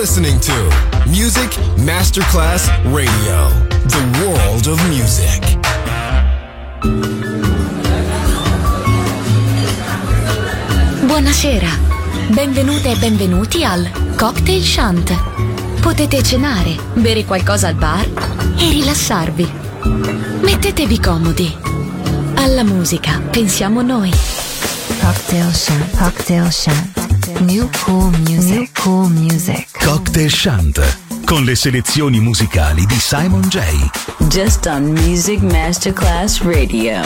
listening to Music Masterclass Radio, the world of music. Buonasera, benvenute e benvenuti al Cocktail Shant. Potete cenare, bere qualcosa al bar e rilassarvi. Mettetevi comodi. Alla musica pensiamo noi. Cocktail Shant, Cocktail Shant. New cool music, new cool music. Cocktail Shant, con le selezioni musicali di Simon J. Just on Music Masterclass Radio.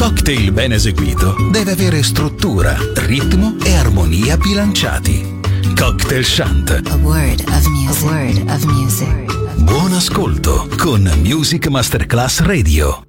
cocktail ben eseguito deve avere struttura, ritmo e armonia bilanciati. Cocktail Chant. A word of music. A word of music. Buon ascolto con Music Masterclass Radio.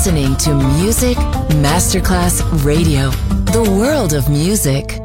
listening to Music Masterclass Radio, the world of music.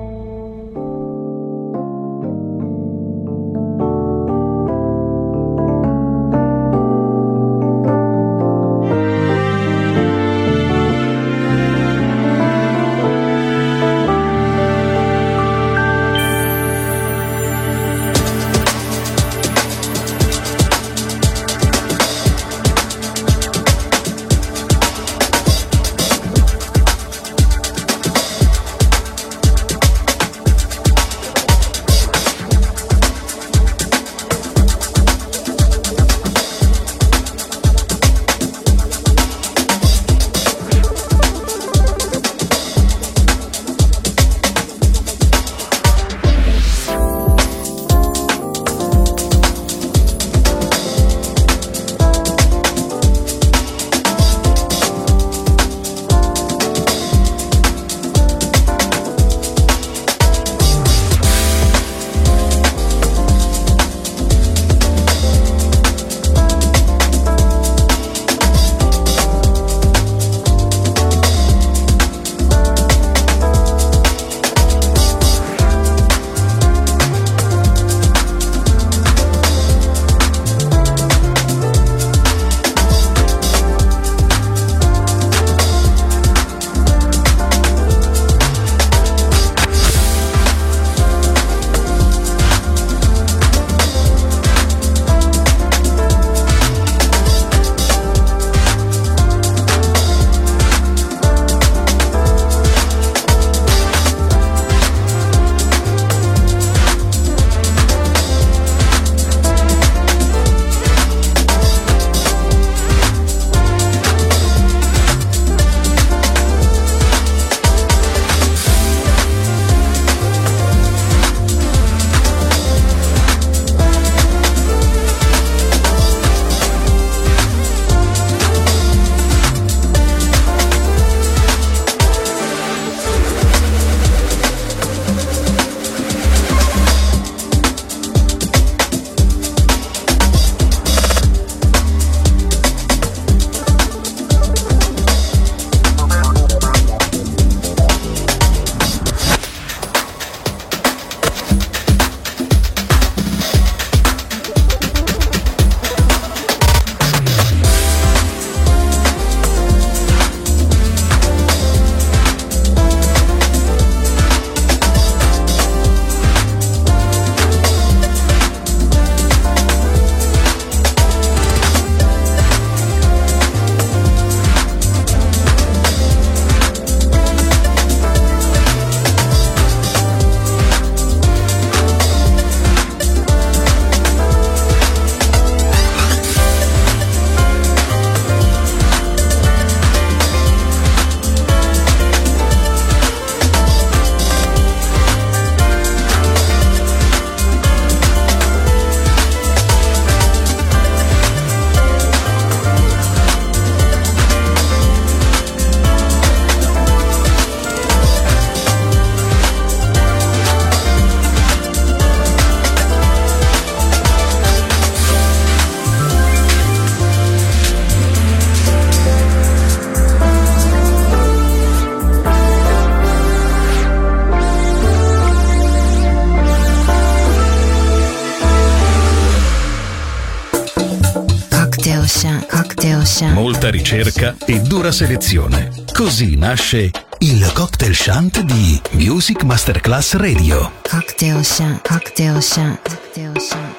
Molta ricerca e dura selezione. Così nasce il Cocktail Shant di Music Masterclass Radio. Cocktail Shant, Cocktail Shant, Cocktail Shant.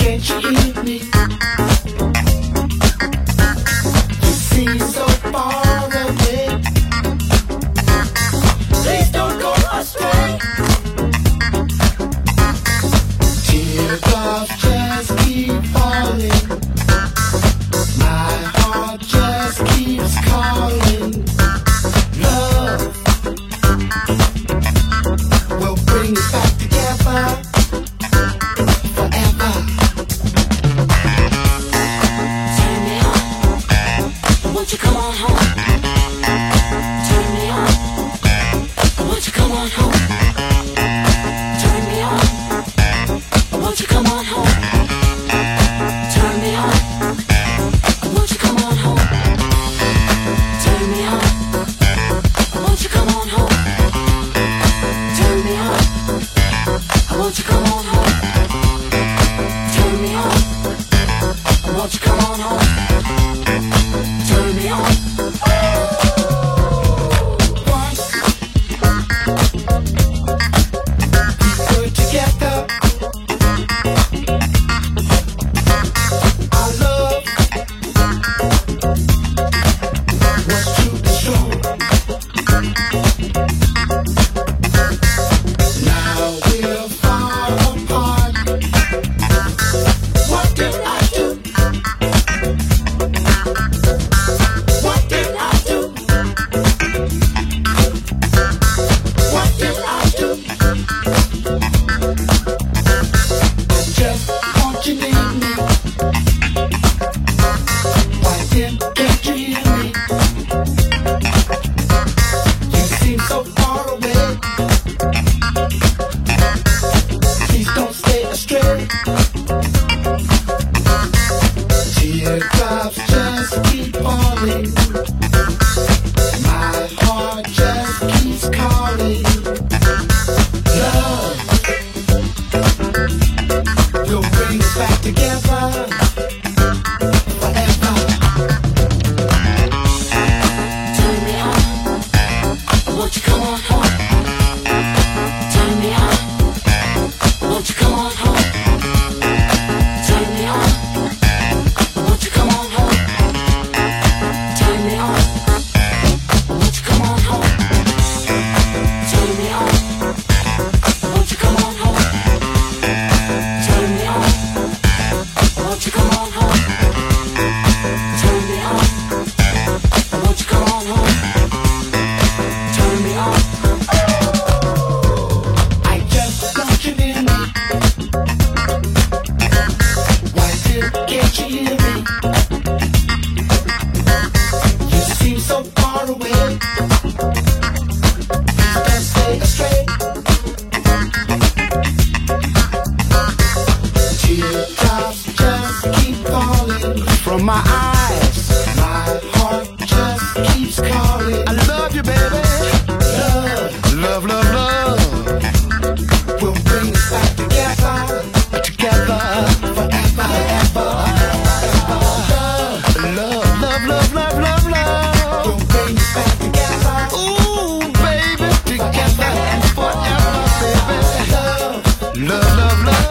Can't you hear me? You seem so far away. Please don't go astray. Teardrops just keep falling. My heart just keeps calling. Love will bring us back together. Won't you come on home? Turn me on. Won't you come on home? Turn me on. Won't you come on home? Turn me on. Won't you come on home? Turn me on. Won't you come on home? Turn me on. Won't you come on home? Turn me on. Won't you come on home? Turn me on. Once we were together, our love was true and strong. Now we're far apart. What did I do? What did I do? What did I do? I just want you near me. Why can't you hear me? You seem so far away. Please don't stay astray. Teardrops just keep falling. My heart just keeps calling. Love will bring us back together forever. Turn me on. Won't you come on home? Turn me on. Won't you come on home? Turn me on. Won't you come on home? Turn me on. Won't you come on home? Turn me on. Won't you come on home? Turn me on. Won't you come on home? Turn me on. Won't you come on home? Turn me on. I just want you near me. Why can't you hear me? You seem so far away. Please don't stay astray. Teardrops just keep falling from my eyes. My heart just keeps calling. I love you, baby. Love, love, love, love will bring us back together, together forever, ever. Love, love, love, love, love, love will bring us back together. Ooh, baby, together and forever, baby. Love, love, love, love.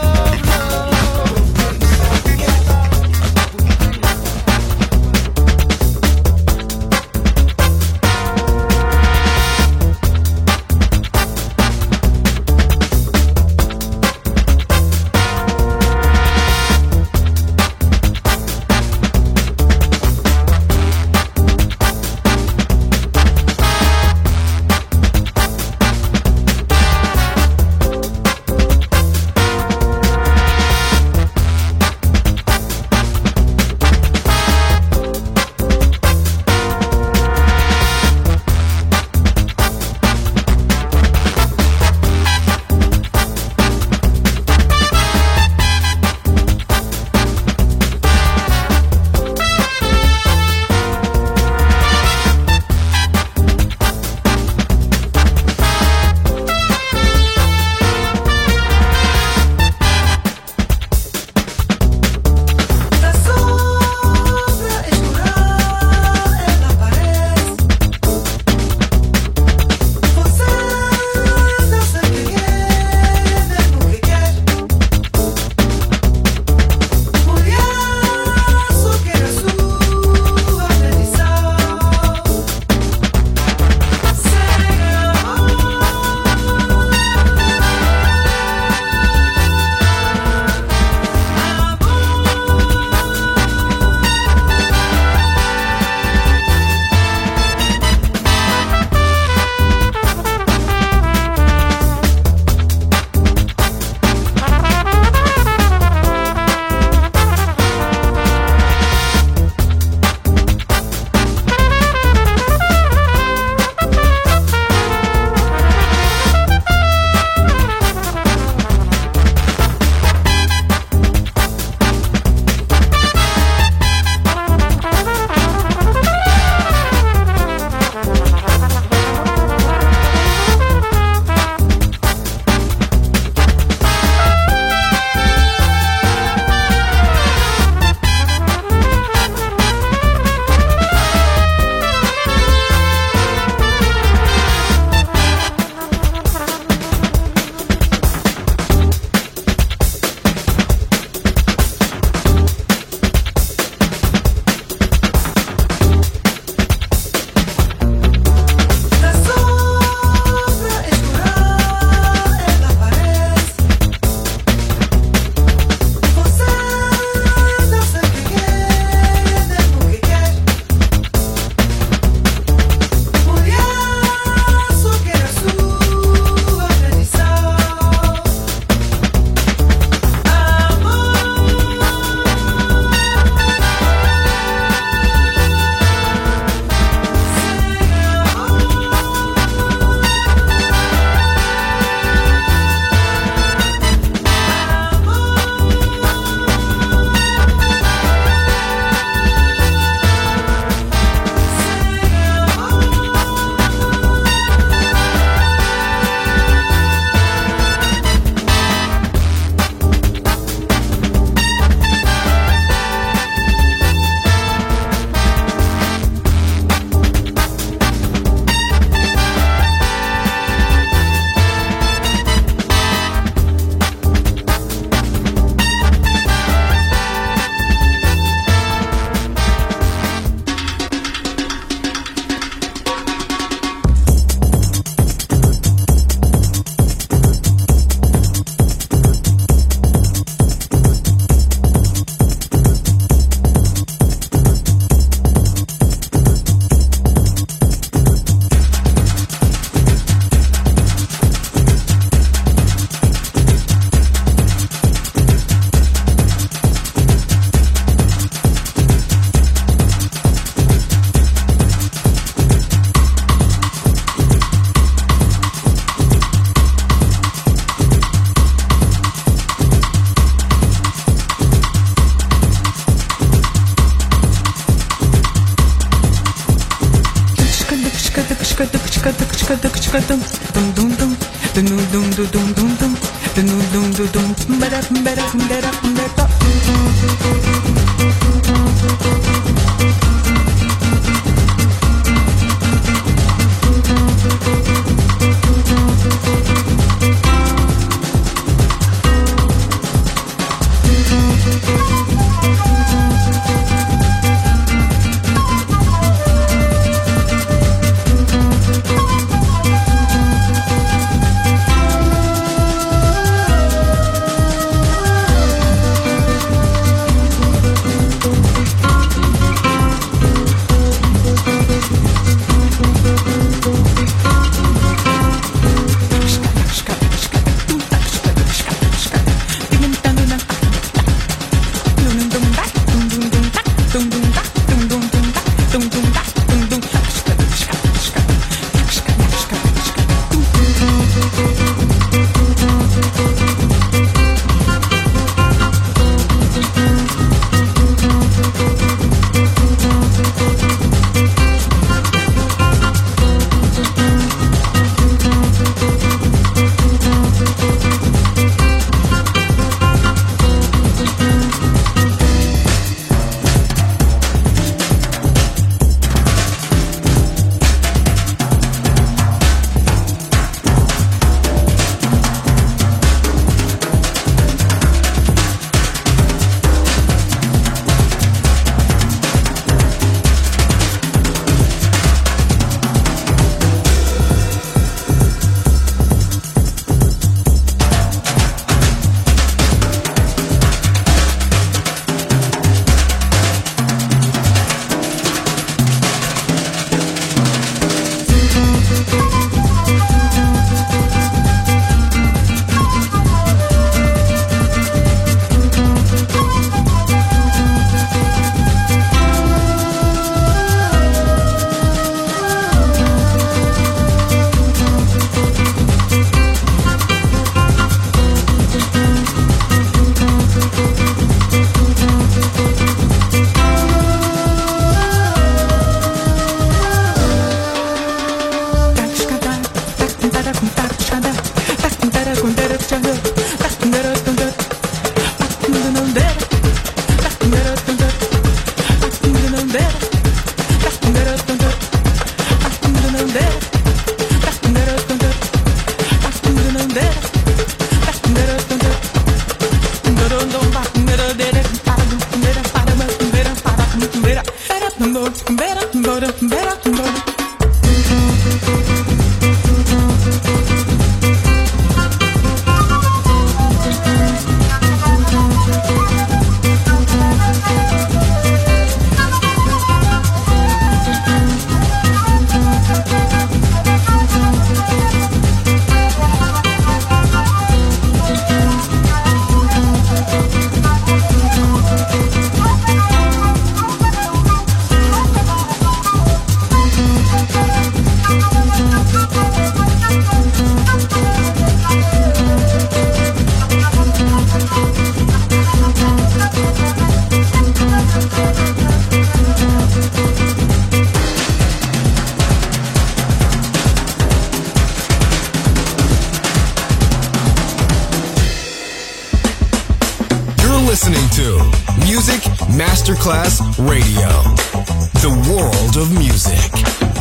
listening to Music Masterclass Radio, the world of music.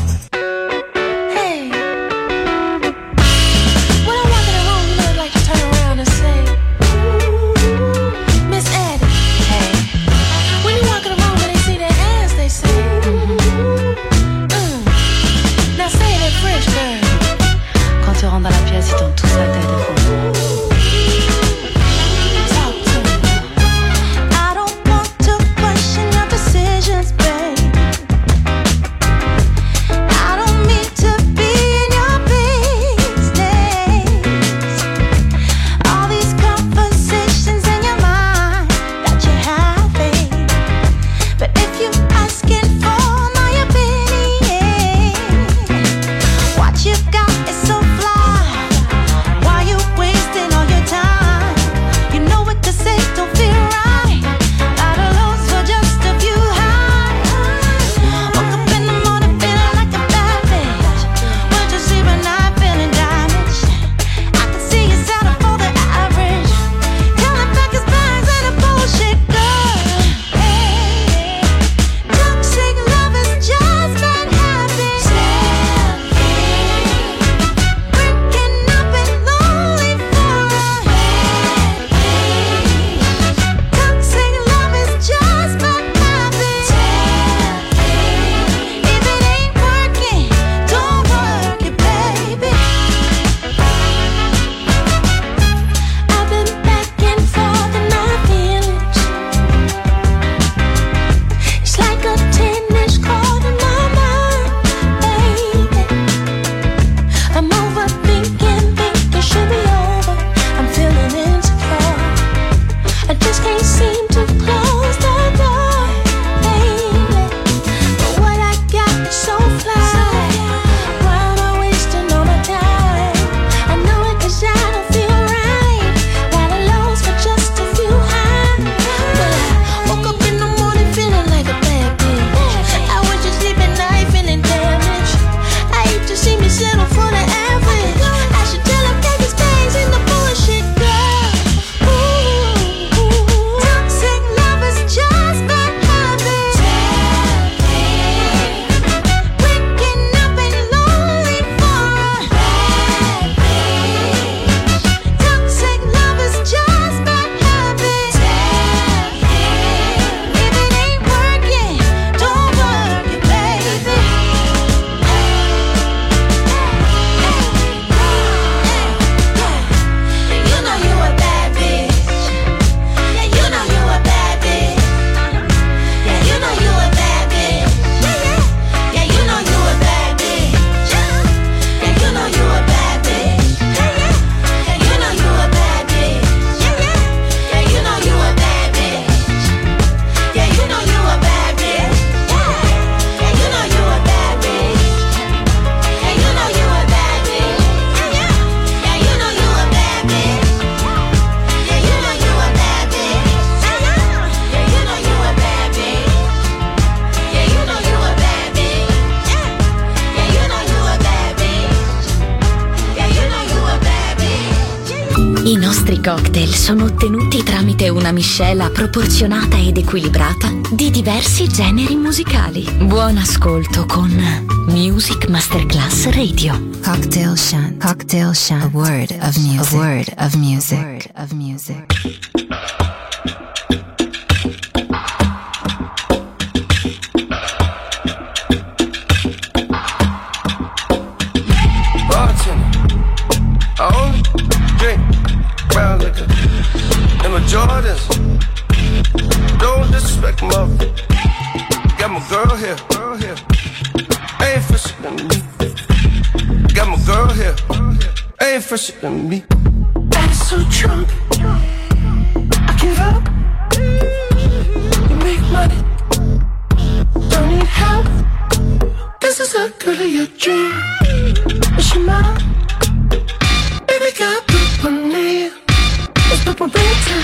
Hey, when I walk in the room, you know, like to turn around and say, Miss Eddie. Hey, when you walk in the room and they see their ass, they say, Now say it in French, girl. Quand tu rentres dans la pièce, ils tournent tous la tête et font. cocktail sono ottenuti tramite una miscela proporzionata ed equilibrata di diversi generi musicali. Buon ascolto con Music Masterclass Radio. Cocktail Shunt. Cocktail Shunt. A word of music. A word of music. A word of music. I only drink brown liquor and my Jordans. Don't disrespect my got my girl here, ain't fresher than me. Got my girl here, ain't fresher than me. I'm so drunk, I give up. You make money, don't need help. This is a girl of your dream. Is she mine? Baby got poop on nail. It's poop on bedtime.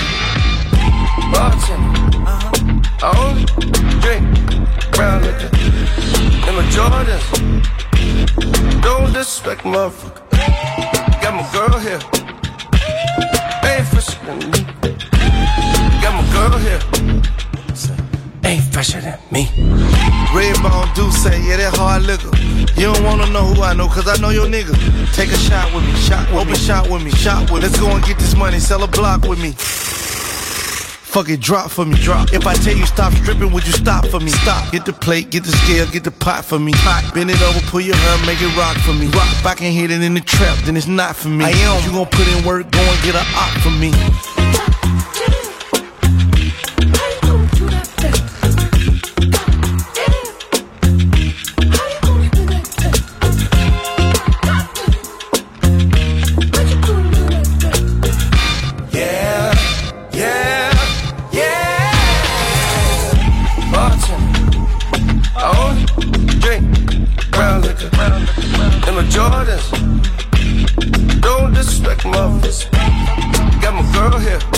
Bartender, I only drink brown liquor and my Jordans. Don't disrespect motherfucker. Got my girl here, ain't fresher than me. Got my girl here, ain't fresher than me. Redbone do say, yeah, that hard liquor. You don't wanna know who I know, cause I know your nigga. Take a shot with me, open shot with me, shot with me. Let's go and get this money, sell a block with me. Fuck it, drop for me, drop. If I tell you stop stripping, would you stop for me? Stop. Get the plate, get the scale, get the pot for me. Pot. Bend it over, pull your hair, make it rock for me. Rock. If I can hit it in the trap, then it's not for me. I am. You gon' put in work, go and get a op for me. Jordans, don't disrespect mothers. Got my girl here,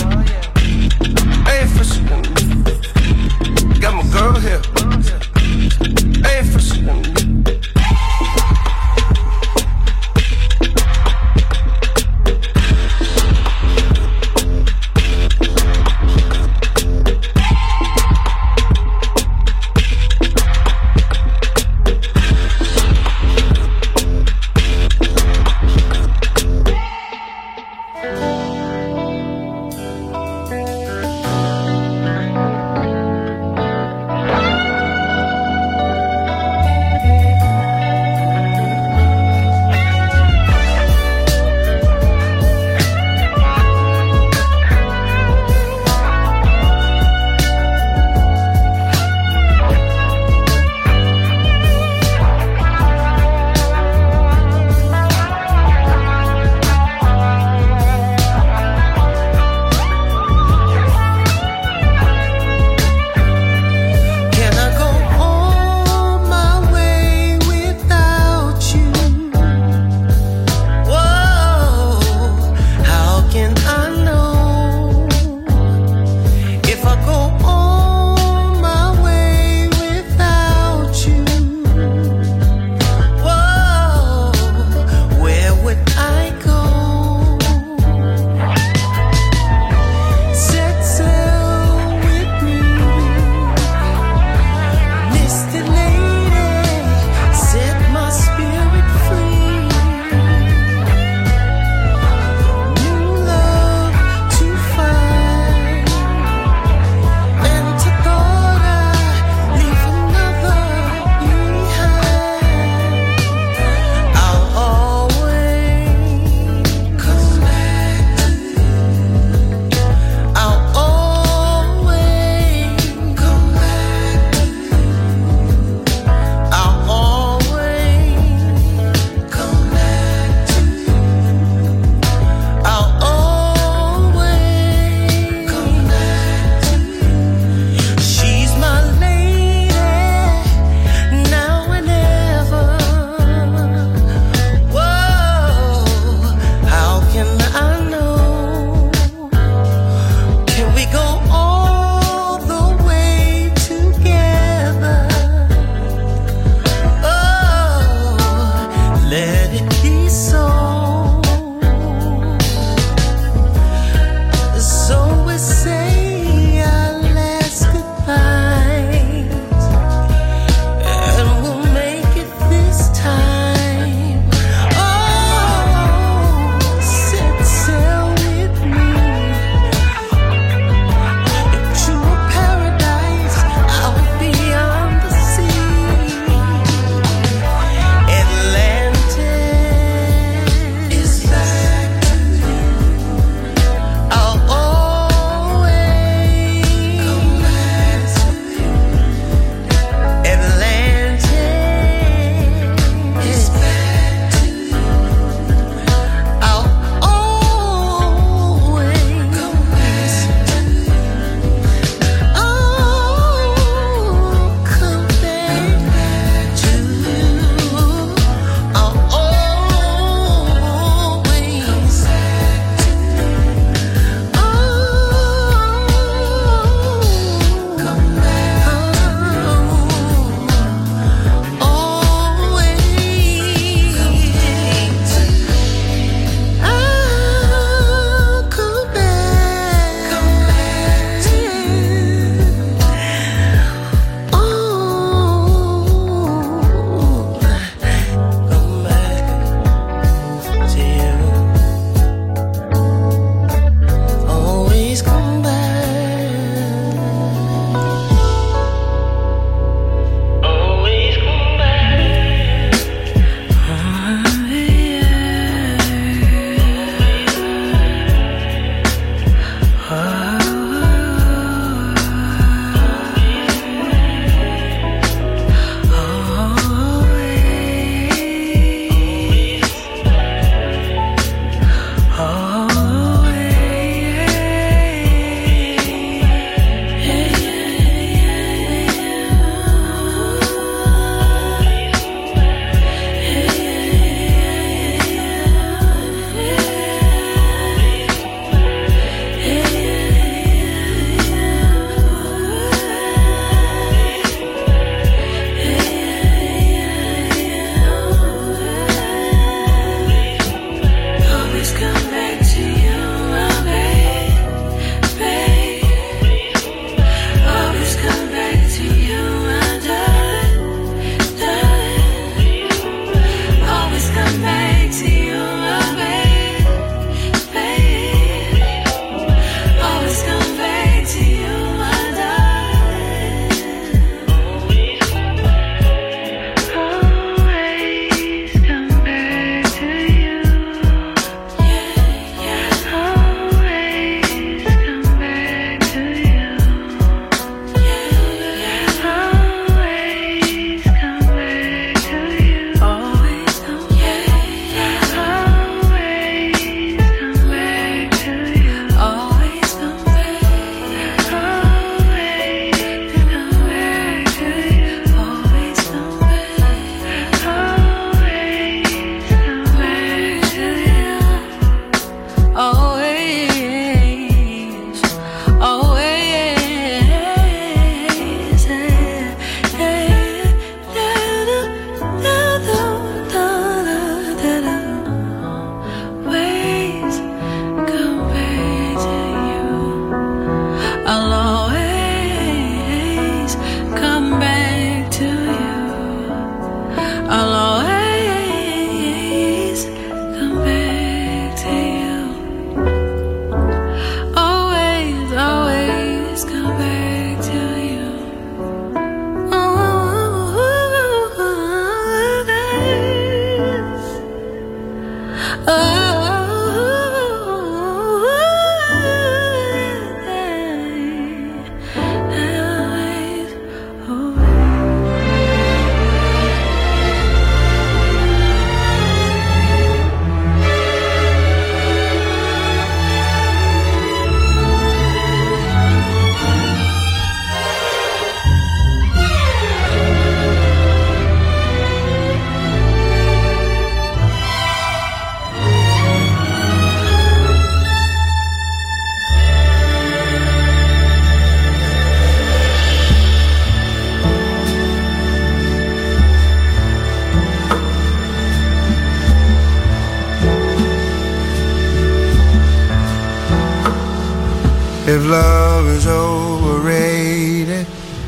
If love is overrated,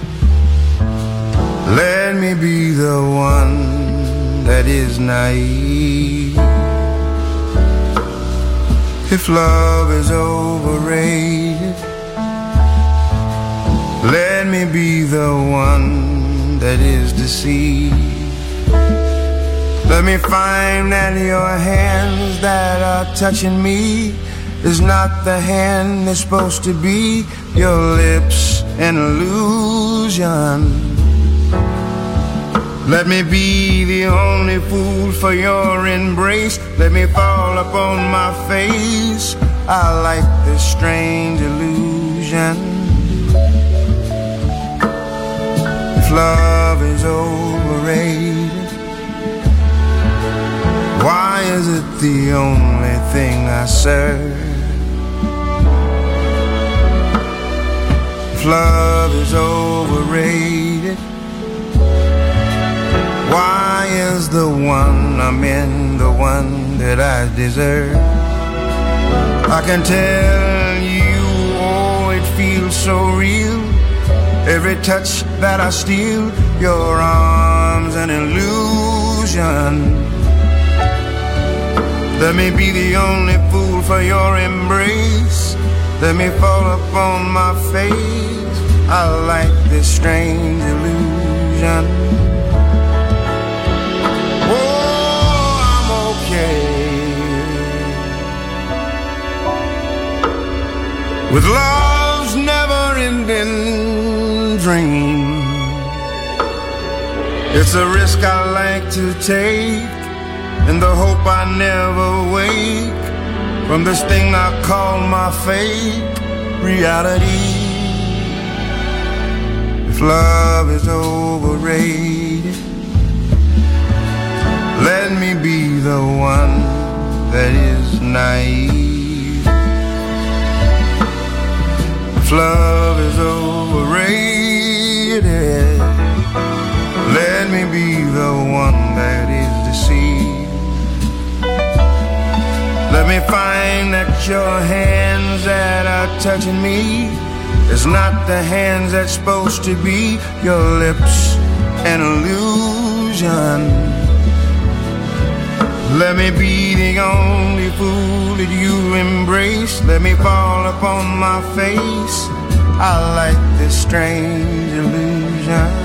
let me be the one that is naive. If love is overrated, let me be the one that is deceived. Let me find that your hands that are touching me is not the hand that's supposed to be. Your lips an illusion. Let me be the only fool for your embrace. Let me fall upon my face. I like this strange illusion. If love is overrated, why is it the only thing I serve? If love is overrated, why is the one I'm in the one that I deserve? I can tell you, oh, it feels so real. Every touch that I steal, your arms an illusion. Let me be the only fool for your embrace. Let me fall upon my face. I like this strange illusion. Oh, I'm okay with love's never-ending dream. It's a risk I like to take, in the hope I never wake from this thing I call my fate, reality. If love is overrated, let me be the one that is naive. If love is overrated, let me be the one that is deceived. Let me find that your hands that are touching me is not the hands that's supposed to be. Your lips an illusion. Let me be the only fool that you embrace. Let me fall upon my face. I like this strange illusion.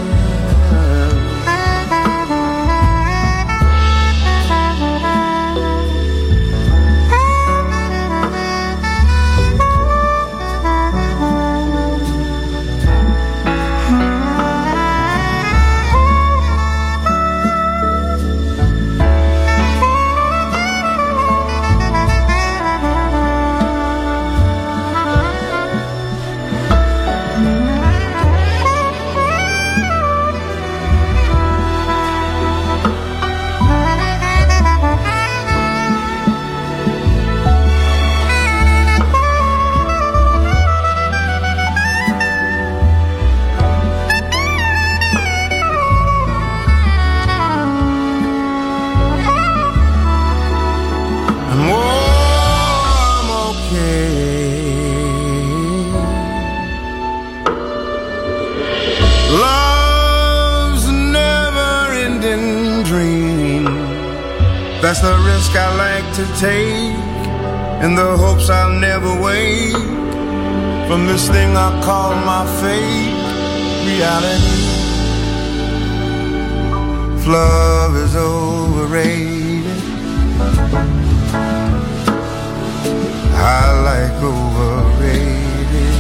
That's the risk I like to take, in the hopes I'll never wake from this thing I call my fate, reality. If love is overrated, I like overrated.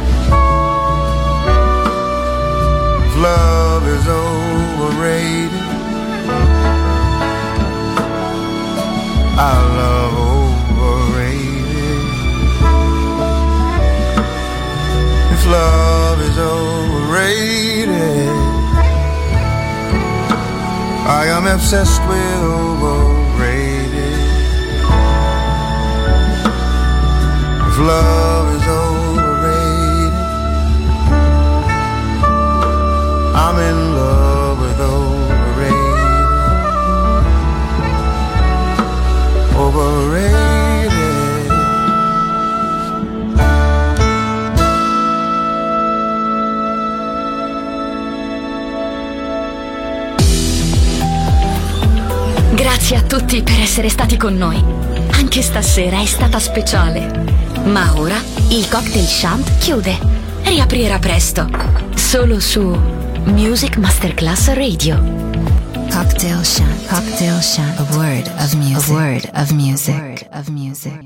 If love is overrated, I love overrated. If love is overrated, I am obsessed with overrated. If love is overrated, I'm in love with overrated. Overrated. Grazie a tutti per essere stati con noi. Anche stasera è stata speciale. Ma ora il Cocktail Shant chiude. Riaprirà presto. Solo su Music Masterclass Radio. Cocktail Shant. Cocktail Shant. A word of music. A word of music.